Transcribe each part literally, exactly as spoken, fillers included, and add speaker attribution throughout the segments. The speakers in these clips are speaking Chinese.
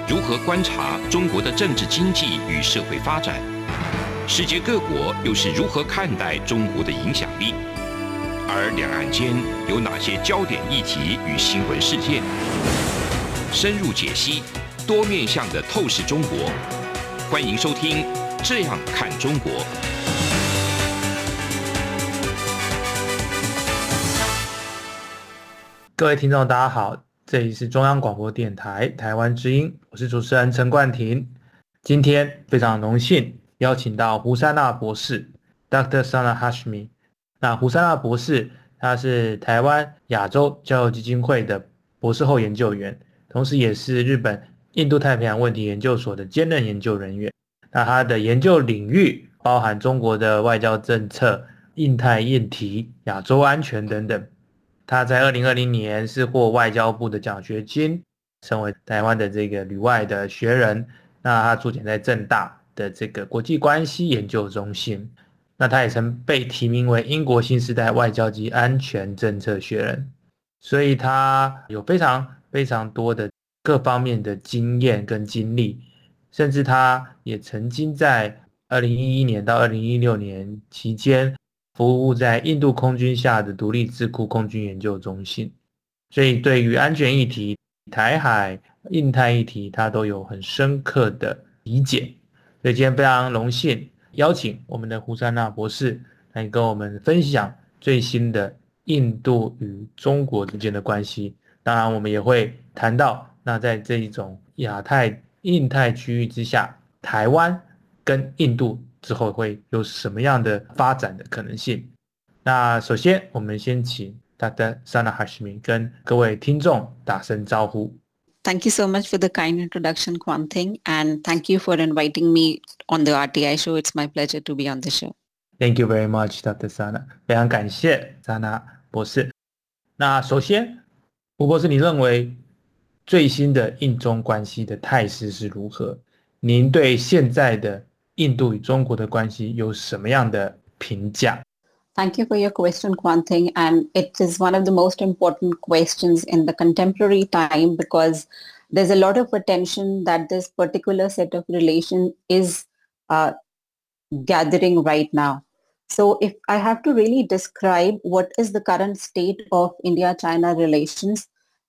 Speaker 1: 如何观察中国的政治经济与社会发展？世界各国又是如何看待中国的影响力？而两岸间有哪些焦点议题与新闻事件？深入解析，多面向的透视中国。欢迎收听《这样看中国》。
Speaker 2: 各位听众大家好，这里是中央广播电台台湾之音，我是主持人陈冠廷。今天非常荣幸邀请到胡珊娜博士 Doctor Sana Hashmi。 那胡珊娜博士他是台湾亚洲教育基金会的博士后研究员，同时也是日本印度太平洋问题研究所的兼任研究人员。那他的研究领域包含中国的外交政策、印太议题、亚洲安全等等。他在二零二零年是获外交部的奖学金，成为台湾的这个旅外的学人。那他驻点在政大的这个国际关系研究中心。那他也曾被提名为英国新时代外交及安全政策学人，所以他有非常非常多的各方面的经验跟经历，甚至他也曾经在二零一一年到二零一六年期间服务在印度空军下的独立智库空军研究中心，所以对于安全议题、台海、印太议题，他都有很深刻的理解。所以今天非常荣幸邀请我们的胡珊娜博士来跟我们分享最新的印度与中国之间的关系。当然我们也会谈到，那在这一种亚太、印太区域之下，台湾跟印度之后会有什么样的发展的可能性。那首先我们先请 Doctor Sana Hashmi 跟各位听众打声招呼。
Speaker 3: Thank you so much for the kind introduction, Kwan Ting, and thank you for inviting me on the R T I show. It's my pleasure to be on the show.
Speaker 2: Thank you very much, Doctor Sana. 非常感谢 Sana 博士。那首先，胡博士，你认为最新的印中关系的态势是如何？您对现在的印度与中国的关系有什么样的评价？
Speaker 3: Thank you for your question, Kwan Ting, and it is one of the most important questions in the contemporary time because there's a lot of attention that this particular set of relations is uh, gathering right now. So if I have to really describe what is the current state of India-China relations,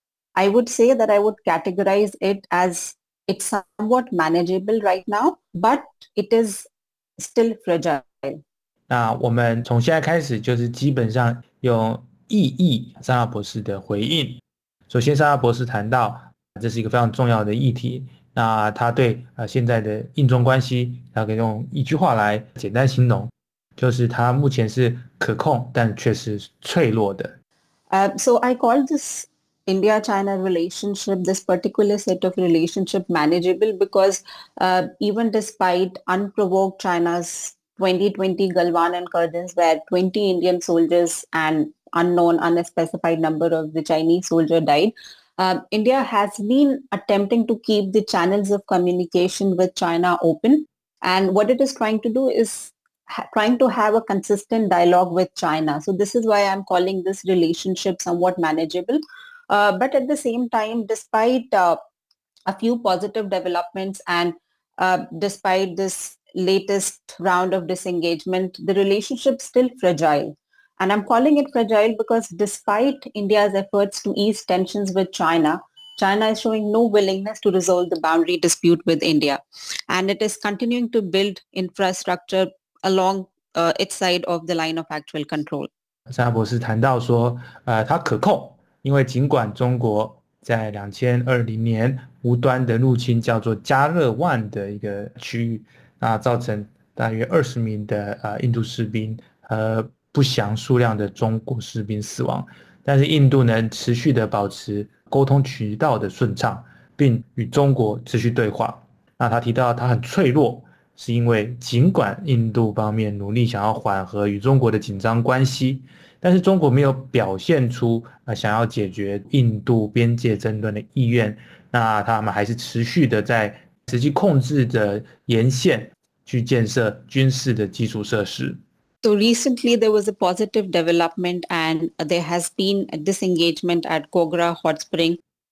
Speaker 3: I would say that I would categorize it as it's somewhat manageable right now, but it is still fragile.
Speaker 2: 那我们从现在开始就是基本上用意义莎拉博士的回应。首先莎拉博士谈到这是一个非常重要的议题，那他对呃现在的印中关系他可以用一句话来简单形容，就是它目前是可控但却是脆弱的。
Speaker 3: Uh, so I call this India-China relationship, this particular set of relationship manageable because uh, even despite unprovoked China's twenty twenty Galwan incursions where twenty Indian soldiers and unknown, unspecified number of the Chinese soldier died, uh, India has been attempting to keep the channels of communication with China open. And what it is trying to do is ha- trying to have a consistent dialogue with China. So this is why I'm calling this relationship somewhat manageable. Uh, but at the same time, despite uh, a few positive developments and uh, despite this latest round of disengagement, the relationship is still fragile. And I'm calling it fragile because despite India's efforts to ease tensions with China, China is showing no willingness to resolve the boundary dispute with India. And it is continuing to build infrastructure along uh, its side of the line of actual control.
Speaker 2: 莎拉博士谈到说，呃，它可控，因为尽管中国在二零二零年无端的入侵叫做加勒万的一个区域，那造成大约二十名的呃印度士兵和不详数量的中国士兵死亡，但是印度能持续的保持沟通渠道的顺畅，并与中国持续对话。那他提到他很脆弱，是因为尽管印度方面努力想要缓和与中国的紧张关系，但是中国没有表现出呃想要解决印度边界争端的意愿，那他们还是持续的在实际控制的沿线去建设军事的基础设施。
Speaker 3: So recently there was a positive development and there has been a disengagement at Kogra Hot Spring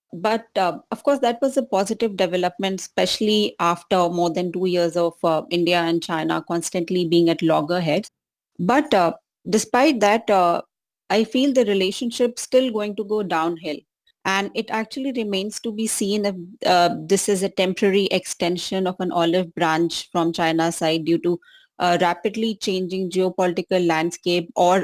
Speaker 3: But uh, of course, that was a positive development, especially after more than two years of uh, India and China constantly being at loggerheads. But uh, despite that, uh, I feel the relationship still going to go downhill. And it actually remains to be seen if uh, this is a temporary extension of an olive branch from China's side due to a rapidly changing geopolitical landscape, or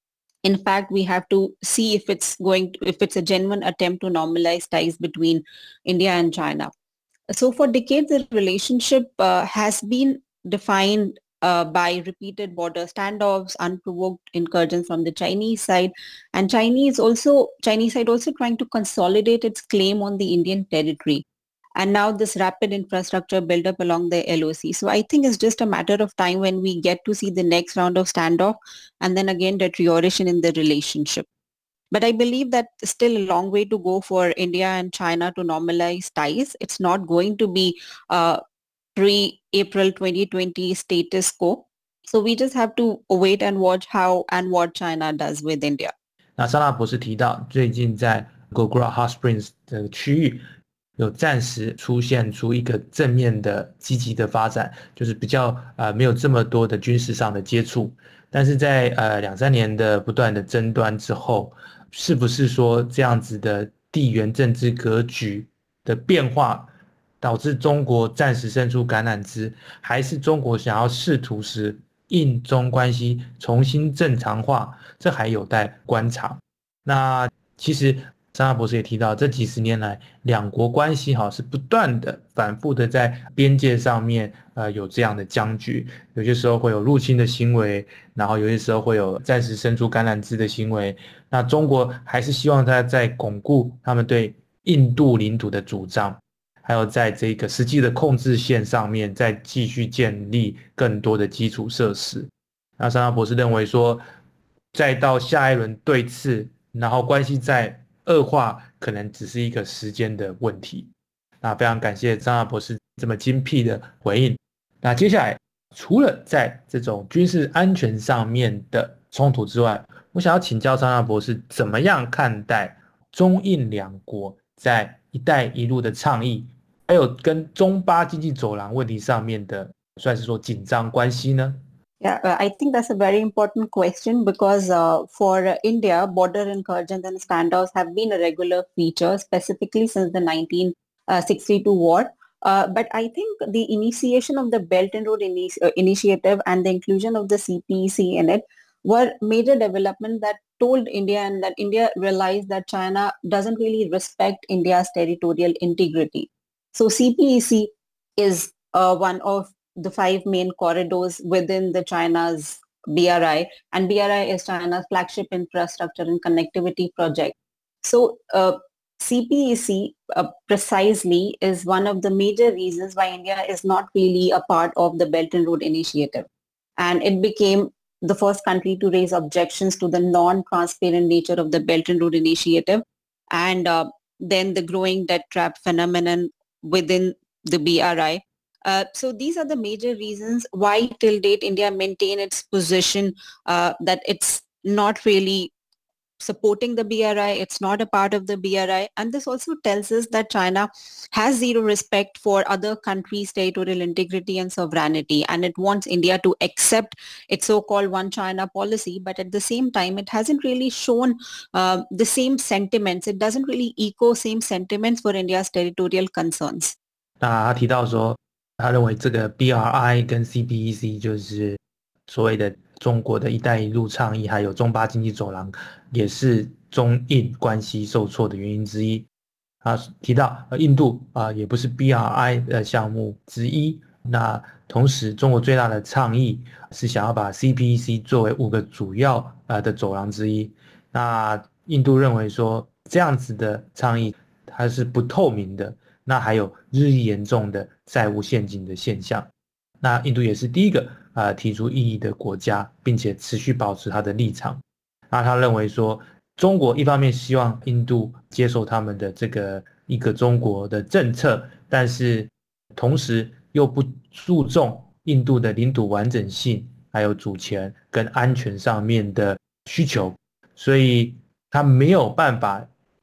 Speaker 3: in fact, we have to see if it's going to, if it's a genuine attempt to normalize ties between India and China. So for decades, the relationship uh, has been defined uh, by repeated border standoffs, unprovoked incursions from the Chinese side, and Chinese also Chinese side also trying to consolidate its claim on the Indian territory. And now this rapid infrastructure build up along the L O C. So I think it's just a matter of time when we get to see the next round of standoff and then again deterioration in the relationship. But I believe that still a long way to go for India and China to normalize ties. It's not going to be uh, pre-April twenty twenty status quo. So we just have to wait and watch how and what China does with India.
Speaker 2: 那莎拉博士提到，最近在 Gogra Hot Springs 的区域有暂时出现出一个正面的积极的发展，就是比较呃没有这么多的军事上的接触。但是在呃两三年的不断的争端之后，是不是说这样子的地缘政治格局的变化，导致中国暂时伸出橄榄枝，还是中国想要试图使印中关系重新正常化，这还有待观察。那其实莎拉博士也提到，这几十年来两国关系哈是不断的反复的在边界上面呃有这样的僵局，有些时候会有入侵的行为，然后有些时候会有暂时伸出橄榄枝的行为。那中国还是希望他在巩固他们对印度领土的主张，还有在这个实际的控制线上面再继续建立更多的基础设施。那莎拉博士认为说，再到下一轮对峙，然后关系再恶化，可能只是一个时间的问题。那非常感谢张亚博士这么精辟的回应。那接下来，除了在这种军事安全上面的冲突之外，我想要请教张亚博士，怎么样看待中印两国在“一带一路”的倡议，还有跟中巴经济走廊问题上面的，算是说紧张关系呢？
Speaker 3: Yeah, uh, I think that's a very important question because uh, for uh, India, border incursions and standoffs have been a regular feature, specifically since the nineteen sixty-two war. Uh, but I think the initiation of the Belt and Road Ini- uh, Initiative and the inclusion of the C P E C in it were major developments that told India and that India realized that China doesn't really respect India's territorial integrity. So C P E C is uh, one of the five main corridors within the China's B R I, and B R I is China's flagship infrastructure and connectivity project. So uh, C P E C uh, precisely is one of the major reasons why India is not really a part of the Belt and Road Initiative. And it became the first country to raise objections to the non-transparent nature of the Belt and Road Initiative, and uh, then the growing debt trap phenomenon within the B R I. Uh, so these are the major reasons why till date India maintain its position uh, that it's not really supporting the B R I, it's not a part of the B R I. And this also tells us that China has zero respect for other countries' territorial integrity and sovereignty, and it wants India to accept its so-called one China policy. But at the same time, it hasn't really shown uh, the same sentiments. It doesn't really echo same sentiments for India's territorial concerns.
Speaker 2: 那他提到说，他认为这个 B R I 跟 C P E C 就是所谓的中国的一带一路倡议，还有中巴经济走廊，也是中印关系受挫的原因之一。他提到印度啊、呃、也不是 B R I 的项目之一。那同时，中国最大的倡议是想要把 C P E C 作为五个主要呃的走廊之一。那印度认为说，这样子的倡议它是不透明的。那还有日益严重的债务陷阱的现象。那印度也是第一个呃提出异议的国家，并且持续保持他的立场。那他认为说，中国一方面希望印度接受他们的这个一个中国的政策，但是同时又不注重印度的领土完整性，还有主权跟安全上面的需求，所以他没有办法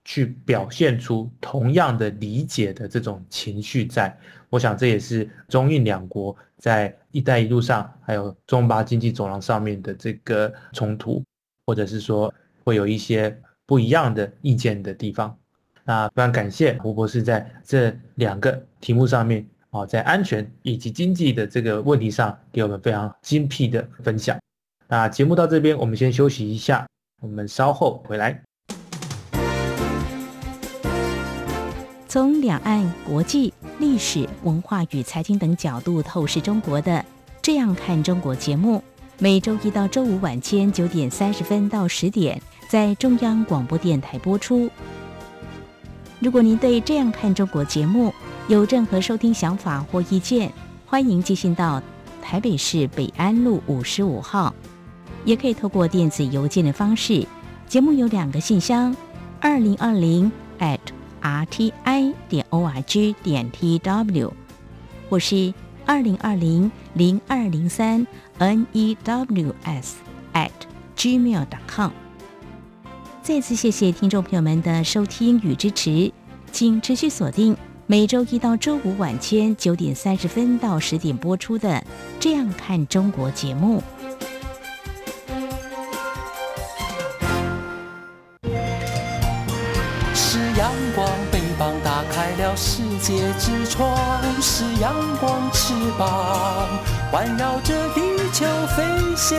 Speaker 2: 去表现出同样的理解的这种情绪在。我想这也是中印两国在一带一路上还有中巴经济走廊上面的这个冲突，或者是说会有一些不一样的意见的地方。那非常感谢胡博士在这两个题目上面在安全以及经济的这个问题上给我们非常精辟的分享。那节目到这边我们先休息一下，我们稍后回来。
Speaker 4: 从两岸、国际、历史、文化与财经等角度透视中国的《这样看中国》节目，每周一到周五晚间九点三十分到十点在中央广播电台播出。如果您对《这样看中国》节目有任何收听想法或意见，欢迎寄信到台北市北安路五十五号，也可以透过电子邮件的方式。节目有两个信箱：二零二零 at r t i 点 org 点 t w， 或是二零二零零二零三 n e w s at gmail 点 com。 再次谢谢听众朋友们的收听与支持，请持续锁定每周一到周五晚间九点三十分到十点播出的《这样看中国》节目。
Speaker 5: 是阳光，翅膀打开了世界之窗，是阳光翅膀环绕着地球飞翔。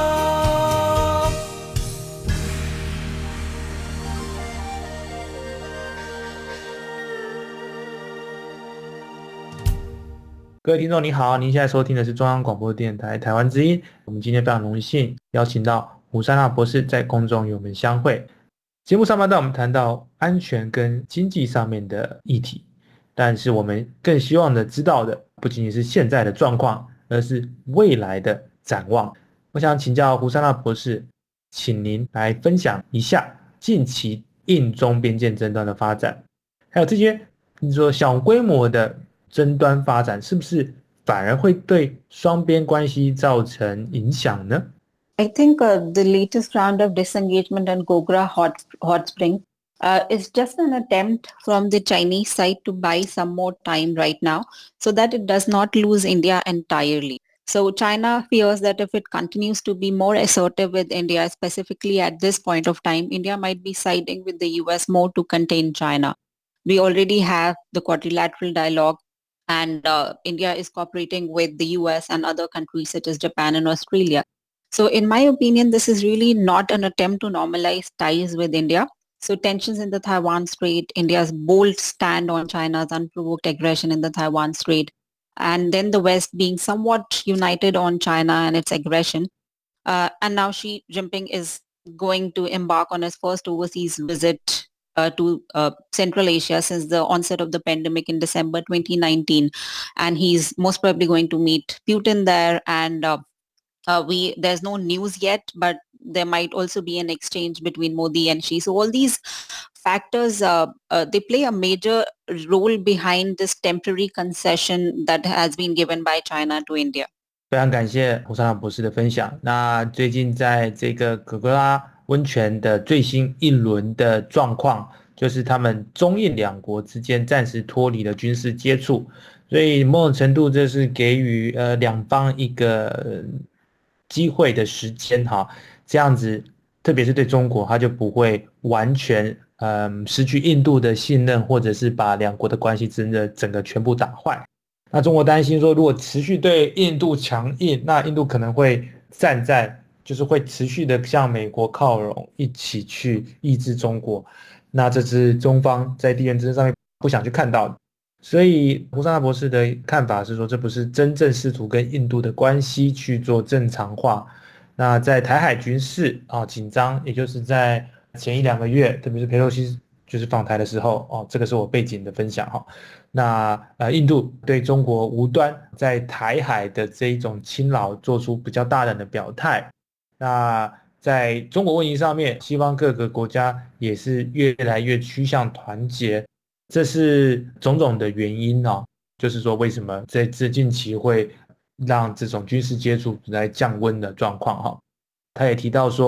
Speaker 2: 各位听众你好，您现在收听的是中央广播电台台湾之音。我们今天非常荣幸邀请到胡珊娜博士在空中与我们相会。节目上半段我们谈到安全跟经济上面的议题，但是我们更希望的知道的不仅仅是现在的状况，而是未来的展望。我想请教胡珊娜博士，请您来分享一下近期印中边界争端的发展，还有这些你说小规模的争端发展是不是反而会对双边关系造成影响呢？
Speaker 3: I think uh, the latest round of disengagement in Gogra Hot, Hot Spring uh, is just an attempt from the Chinese side to buy some more time right now so that it does not lose India entirely. So China fears that if it continues to be more assertive with India, specifically at this point of time, India might be siding with the U S more to contain China. We already have the quadrilateral dialogue, and uh, India is cooperating with the U S and other countries such as Japan and Australia. So in my opinion, this is really not an attempt to normalize ties with India. So tensions in the Taiwan Strait, India's bold stand on China's unprovoked aggression in the Taiwan Strait, and then the West being somewhat united on China and its aggression. Uh, and now Xi Jinping is going to embark on his first overseas visit uh, to uh, Central Asia since the onset of the pandemic in December twenty nineteen. And he's most probably going to meet Putin there, and uh, Uh, we there's no news yet, but there might also be an exchange between Modi and Xi. So all these factors, uh, uh, they play a major role behind this temporary concession that has been given by China to India.
Speaker 2: 非常感谢胡珊娜博士的分享。那最近在这个格格拉温泉的最新一轮的状况，就是他们中印两国之间暂时脱离了军事接触，所以某种程度这是给予呃两方一个、呃机会的时间哈，这样子特别是对中国，他就不会完全嗯失去印度的信任，或者是把两国的关系真的整个全部打坏。那中国担心说，如果持续对印度强硬，那印度可能会站在就是会持续的向美国靠拢，一起去抑制中国。那这是中方在地缘政治上面不想去看到的。所以胡珊娜博士的看法是说，这不是真正试图跟印度的关系去做正常化。那在台海局势啊紧张，也就是在前一两个月，特别是佩洛西就是访台的时候，哦，这个是我背景的分享哈。那呃，印度对中国无端在台海的这一种侵扰做出比较大胆的表态。那在中国问题上面，西方各个国家也是越来越趋向团结。这是种种的原因哦，就是说为什么在这近期会让这种军事接触来降温的状况哈。他也提到说，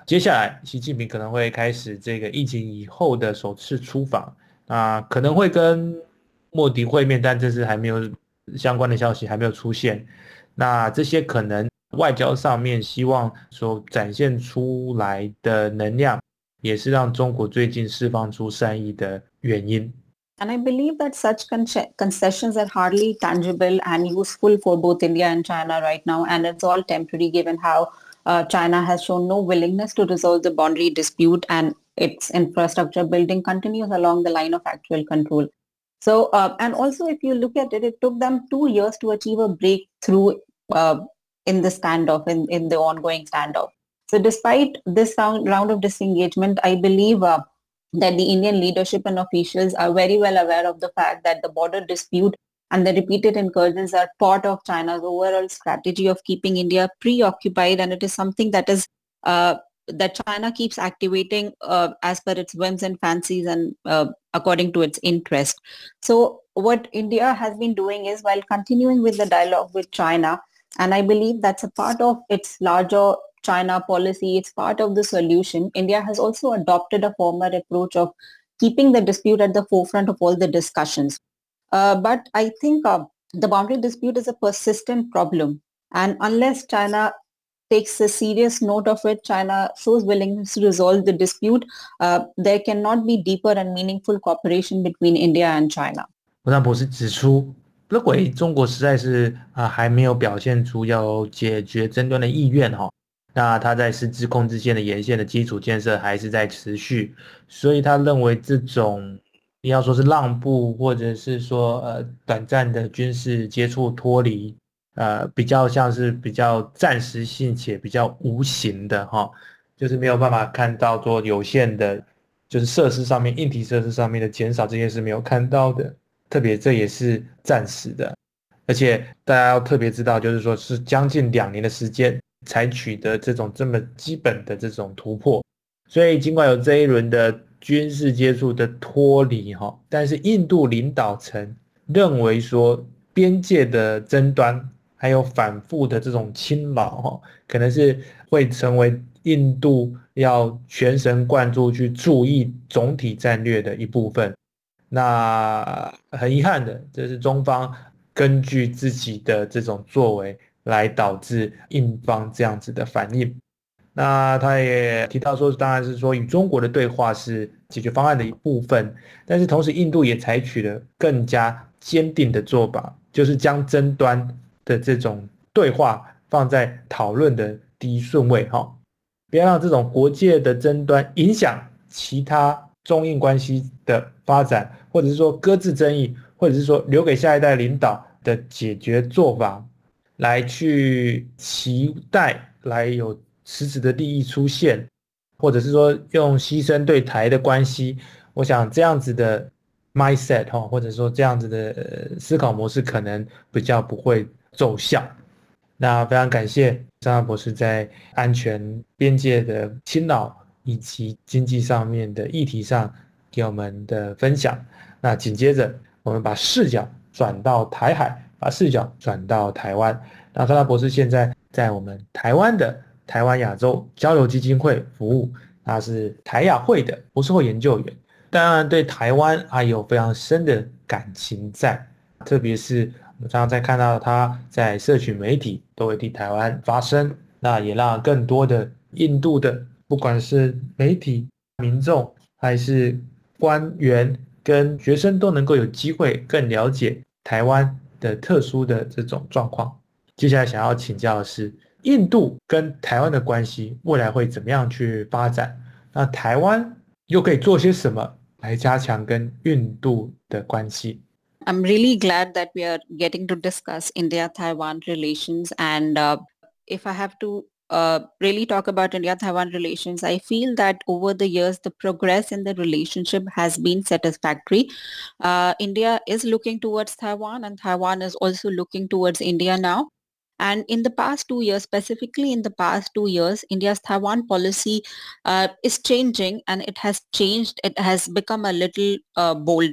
Speaker 2: 接下来习近平可能会开始这个疫情以后的首次出访，啊，可能会跟莫迪会面，但这是还没有相关的消息还没有出现。那这些可能外交上面希望所展现出来的能量，也是让中国最近释放出善意的原因。
Speaker 3: And I believe that such concessions are hardly tangible and useful for both India and China right now, and it's all temporary given how uh, China has shown no willingness to resolve the boundary dispute and its infrastructure building continues along the line of actual control. So, uh, and also if you look at it, it took them two years to achieve a breakthrough uh, in the standoff, in, in the ongoing standoff. So despite this round, round of disengagement, I believe uh, that the Indian leadership and officials are very well aware of the fact that the border dispute and the repeated incursions are part of China's overall strategy of keeping India preoccupied, and it is something that is uh, that China keeps activating uh, as per its whims and fancies and uh, according to its interest. So what India has been doing is, while continuing with the dialogue with China, and I believe that's a part of its larger China policy, it's part of the solution, India has also adopted a former approach of keeping the dispute at the forefront of all the discussions. Uh, but I think uh, the boundary dispute is a persistent problem. And unless China takes a serious note of it, China shows willingness to resolve the dispute, uh, there cannot be deeper and meaningful cooperation between India and China.
Speaker 2: 胡尚博士指出，认为中国实在是、呃、还没有表现出要解决争端的意愿、哦、那他在实质控制线的沿线的基础建设还是在持续，所以他认为这种要说是让步，或者是说呃短暂的军事接触脱离，呃比较像是比较暂时性且比较无形的哈、哦，就是没有办法看到做有限的，就是设施上面硬体设施上面的减少，这些是没有看到的，特别这也是暂时的，而且大家要特别知道，就是说是将近两年的时间才取得这种这么基本的这种突破，所以尽管有这一轮的军事接触的脱离，但是印度领导层认为说边界的争端还有反复的这种侵扰，可能是会成为印度要全神贯注去注意总体战略的一部分。那很遗憾的，这是中方根据自己的这种作为来导致印方这样子的反应。那他也提到说，当然是说与中国的对话是解决方案的一部分，但是同时印度也采取了更加坚定的做法，就是将争端的这种对话放在讨论的第一顺位，不要让这种国界的争端影响其他中印关系的发展，或者是说搁置争议，或者是说留给下一代领导的解决做法来去期待来有实质的利益出现，或者是说用牺牲对台的关系，我想这样子的 mindset 或者说这样子的思考模式可能比较不会奏效。那非常感谢张大博士在安全边界的侵扰以及经济上面的议题上给我们的分享。那紧接着我们把视角转到台海，把视角转到台湾。那张大博士现在在我们台湾的台湾亚洲交流基金会服务，他是台亚会的博士后研究员，当然对台湾还有非常深的感情在，特别是我们常常在看到他在社群媒体都会替台湾发声，那也让更多的印度的不管是媒体、民众还是官员跟学生都能够有机会更了解台湾的特殊的这种状况。接下来想要请教的是，印度跟台湾的关系未来会怎么样去发展？那台湾又可以做些什么来加强跟印度的关系？
Speaker 3: I'm really glad that we are getting to discuss India-Taiwan relations, and uh, if I have to uh, really talk about India-Taiwan relations, I feel that over the years the progress in the relationship has been satisfactory. Uh, India is looking towards Taiwan, and Taiwan is also looking towards India now. And in the past two years, specifically in the past two years, India's Taiwan policy uh, is changing, and it has changed. It has become a little uh, bolder.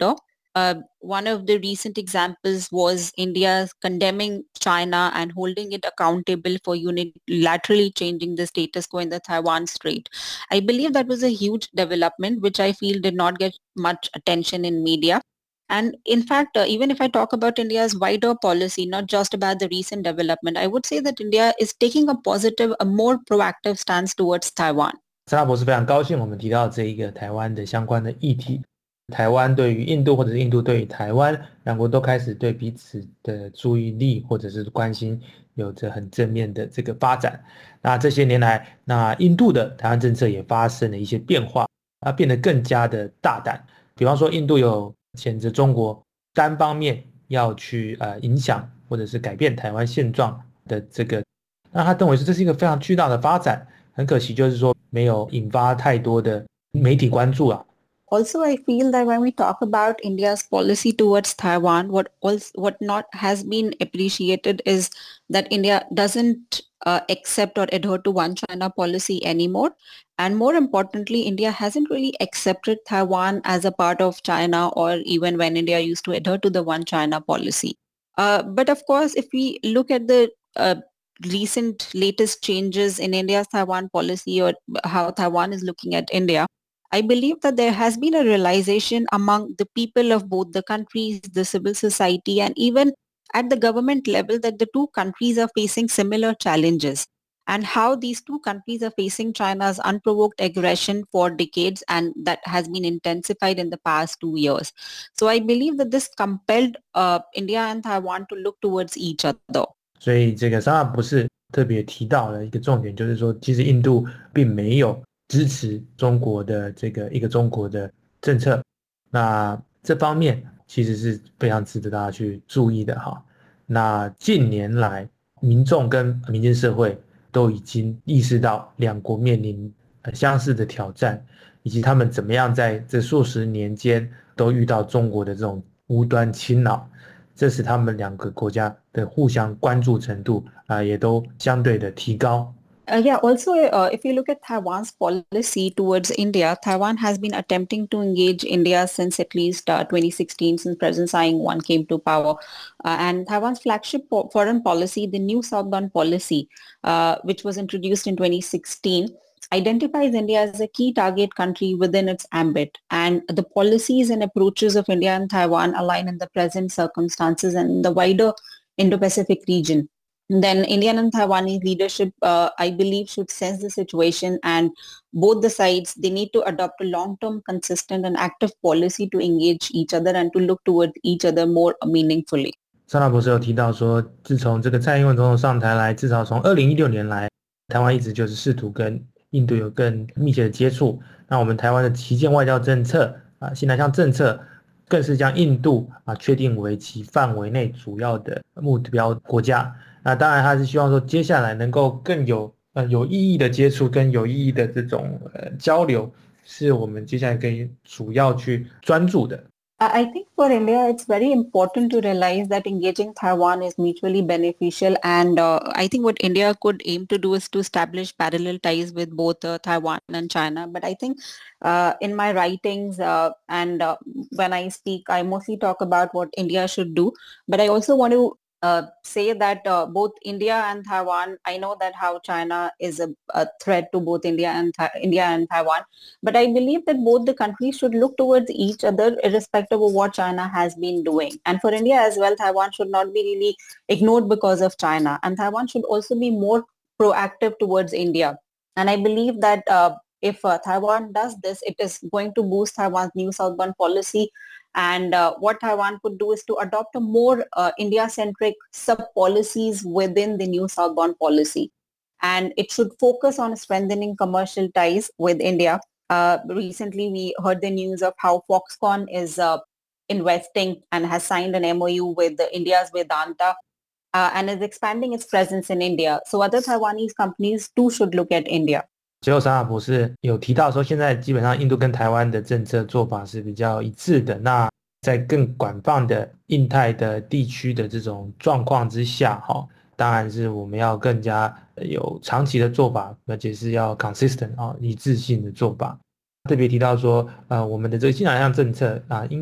Speaker 3: Uh, one of the recent examples was India condemning China and holding it accountable for unilaterally changing the status quo in the Taiwan Strait. I believe that was a huge development, which I feel did not get much attention in media. And in fact, uh, even if I talk about India's wider policy, not just about the recent development, I would say that India is taking a positive, a more proactive stance towards Taiwan.
Speaker 2: 沙拉博士非常高兴我们提到这一个台湾的相关的议题。台湾对于印度或者是印度对于台湾，两国都开始对彼此的注意力或者是关心有着很正面的这个发展。那这些年来，那印度的台湾政策也发生了一些变化，它变得更加的大胆。比方说印度有谴责中国单方面要去呃影响或者是改变台湾现状的这个，那他认为是这是一个非常巨大的发展，很可惜就是说没有引发太多的媒体关注啊。
Speaker 3: Also, I feel that when we talk about India's policy towards Taiwan, what also, what not has been appreciated is that India doesn't uh, accept or adhere to one China policy anymore. And more importantly, India hasn't really accepted Taiwan as a part of China, or even when India used to adhere to the one China policy. Uh, but of course, if we look at the uh, recent latest changes in India's Taiwan policy, or how Taiwan is looking at India, I believe that there has been a realization among the people of both the countries, the civil society, and even at the government level that the two countries are facing similar challenges, and how these two countries are facing China's unprovoked aggression for decades, and that has been intensified in the past two years. So I believe that this compelled uh, India and Taiwan to look towards each other.
Speaker 2: 所以这个沙拉博士特别提到了一个重点，就是说其实印度并没有支持中国的这个一个中国的政策，那这方面其实是非常值得大家去注意的哈。那近年来，民众跟民间社会都已经意识到两国面临相似的挑战，以及他们怎么样在这数十年间都遇到中国的这种无端侵扰，这使他们两个国家的互相关注程度啊、呃，也都相对的提高。
Speaker 3: Uh, yeah, also, uh, if you look at Taiwan's policy towards India, Taiwan has been attempting to engage India since at least uh, twenty sixteen, since President Tsai Ing-wen came to power. Uh, and Taiwan's flagship po- foreign policy, the New Southbound Policy, uh, which was introduced in twenty sixteen, identifies India as a key target country within its ambit. And the policies and approaches of India and Taiwan align in the present circumstances and in the wider Indo-Pacific region. Then Indian and Taiwanese leadership, uh, I believe, should sense the situation, and both the sides, they need to adopt a long-term, consistent and active policy to engage each other and to look towards each other more meaningfully.
Speaker 2: 沙拉博士有提到说，自从这个蔡英文总统上台来，至少从二零一六年来，台湾一直就是试图跟印度有更密切的接触。那我们台湾的旗舰外交政策啊，新南向政策，更是将印度啊确定为其范围内主要的目标国家。那当然，他是希望说接下来能够更有呃有意义的接触，跟有意义的这种呃交流，是我们接下来可以主要去专注的。
Speaker 3: I think for India, it's very important to realize that engaging Taiwan is mutually beneficial. And uh, I think what India could aim to do is to establish parallel ties with both uh, Taiwan and China. But I think uh, in my writings uh, and uh, when I speak, I mostly talk about what India should do. But I also want to Uh, say that uh, both India and Taiwan, I know that how China is a, a threat to both India and Th- India and Taiwan, but I believe that both the countries should look towards each other irrespective of what China has been doing. And for India as well, Taiwan should not be really ignored because of China, and Taiwan should also be more proactive towards India. And I believe that uh, if uh, Taiwan does this, it is going to boost Taiwan's New Southbound Policy. And uh, what Taiwan could do is to adopt a more uh, India-centric sub-policies within the New Southbound Policy. And it should focus on strengthening commercial ties with India. Uh, recently, we heard the news of how Foxconn is uh, investing and has signed an M O U with the India's Vedanta uh, and is expanding its presence in India. So other Taiwanese companies too should look at India.
Speaker 2: 最后，沙拉博士有提到说，现在基本上印度跟台湾的政策做法是比较一致的。那在更广泛的印太的地区的这种状况之下，哈，当然是我们要更加有长期的做法，而且是要 consistent 啊，一致性的做法。特别提到说，呃，我们的这个新南向政策啊，应该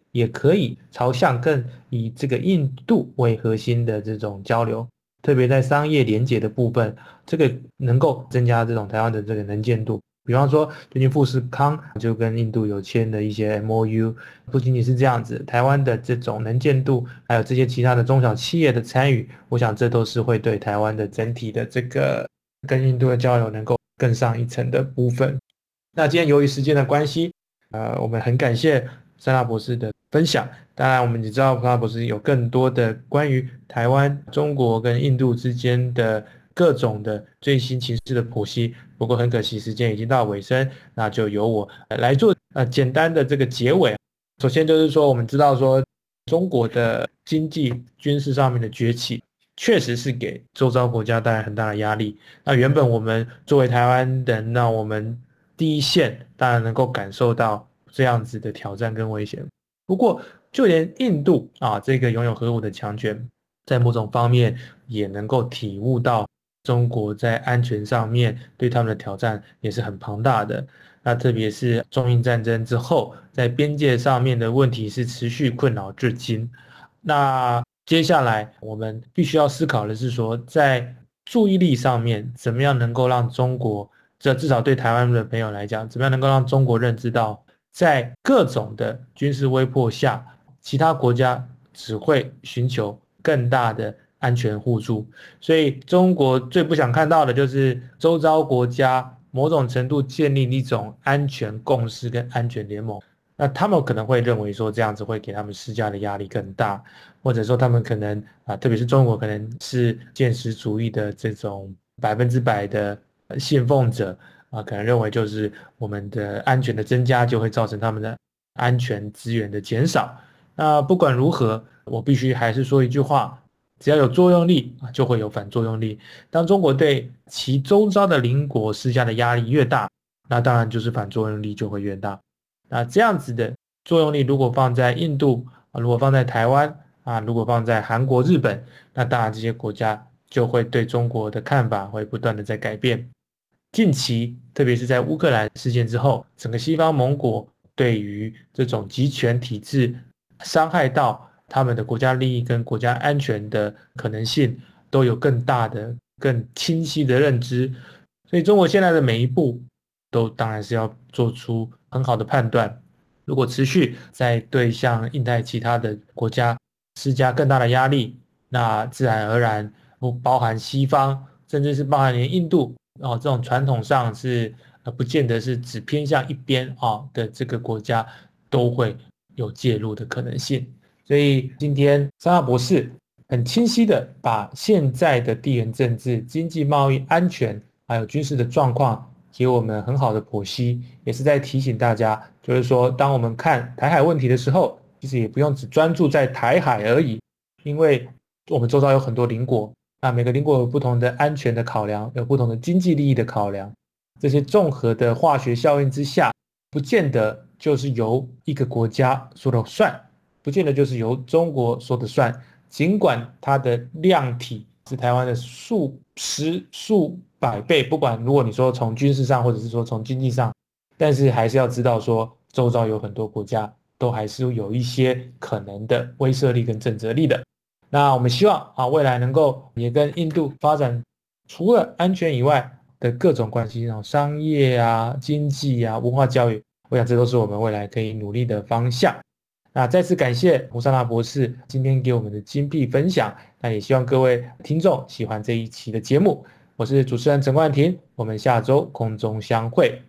Speaker 2: 也可以朝向更以这个印度为核心的这种交流，特别在商业连结的部分，这个能够增加这种台湾的这个能见度。比方说最近富士康就跟印度有签的一些 M O U， 不仅仅是这样子，台湾的这种能见度还有这些其他的中小企业的参与，我想这都是会对台湾的整体的这个跟印度的交流能够更上一层的部分。那今天由于时间的关系，呃，我们很感谢珊娜博士的分享。当然我们也知道珊娜博士有更多的关于台湾、中国跟印度之间的各种的最新情势的剖析，不过很可惜时间已经到尾声，那就由我来做呃简单的这个结尾。首先就是说，我们知道说中国的经济军事上面的崛起确实是给周遭国家带来很大的压力。那原本我们作为台湾人，那我们第一线当然能够感受到这样子的挑战跟危险。不过就连印度啊这个拥有核武的强权，在某种方面也能够体悟到中国在安全上面对他们的挑战也是很庞大的。那特别是中印战争之后，在边界上面的问题是持续困扰至今。那接下来我们必须要思考的是说，在注意力上面怎么样能够让中国，这至少对台湾的朋友来讲，怎么样能够让中国认知到，在各种的军事威迫下，其他国家只会寻求更大的安全互助。所以中国最不想看到的就是周遭国家某种程度建立一种安全共识跟安全联盟。那他们可能会认为说这样子会给他们施加的压力更大，或者说他们可能啊，特别是中国可能是现实主义的这种百分之百的信奉者啊，可能认为就是我们的安全的增加就会造成他们的安全资源的减少。那不管如何，我必须还是说一句话，只要有作用力就会有反作用力。当中国对其周遭的邻国施加的压力越大，那当然就是反作用力就会越大。那这样子的作用力如果放在印度，如果放在台湾啊，如果放在韩国、日本，那当然这些国家就会对中国的看法会不断的在改变。近期特别是在乌克兰事件之后，整个西方盟国对于这种集权体制伤害到他们的国家利益跟国家安全的可能性都有更大的更清晰的认知。所以中国现在的每一步都当然是要做出很好的判断。如果持续在对像印太其他的国家施加更大的压力，那自然而然不包含西方，甚至是包含连印度哦，这种传统上是呃不见得是只偏向一边啊的这个国家都会有介入的可能性。所以今天珊娜博士很清晰的把现在的地缘政治、经济贸易、安全还有军事的状况给我们很好的剖析，也是在提醒大家，就是说当我们看台海问题的时候，其实也不用只专注在台海而已，因为我们周遭有很多邻国，那每个邻国有不同的安全的考量，有不同的经济利益的考量，这些综合的化学效应之下，不见得就是由一个国家说了算，不见得就是由中国说的算，尽管它的量体是台湾的数十数百倍，不管如果你说从军事上或者是说从经济上，但是还是要知道说周遭有很多国家都还是有一些可能的威慑力跟震慑力的。那我们希望啊，未来能够也跟印度发展除了安全以外的各种关系，商业啊、经济啊、文化教育，我想这都是我们未来可以努力的方向。那再次感谢胡珊娜博士今天给我们的精辟分享，那也希望各位听众喜欢这一期的节目。我是主持人陈冠廷，我们下周空中相会。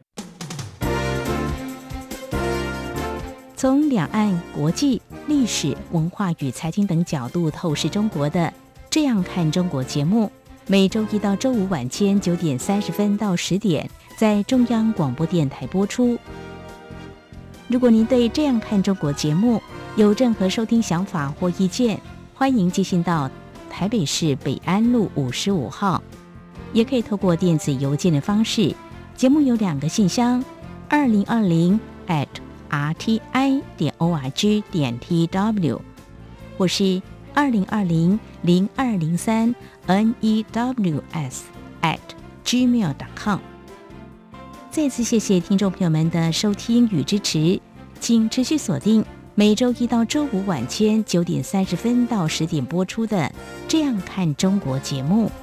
Speaker 4: 从两岸、国际、历史、文化与财经等角度透视中国的《这样看中国》节目，每周一到周五晚间九点三十分到十点在中央广播电台播出。如果您对《这样看中国》节目有任何收听想法或意见，欢迎寄信到台北市北安路五十五号，也可以透过电子邮件的方式。节目有两个信箱：二零二零 at r t i 点 o r g 点 t w， 或是二零二零零二零三 n e w s at gmail 点 com。再次谢谢听众朋友们的收听与支持，请持续锁定每周一到周五晚间九点三十分到十点播出的《这样看中国》节目。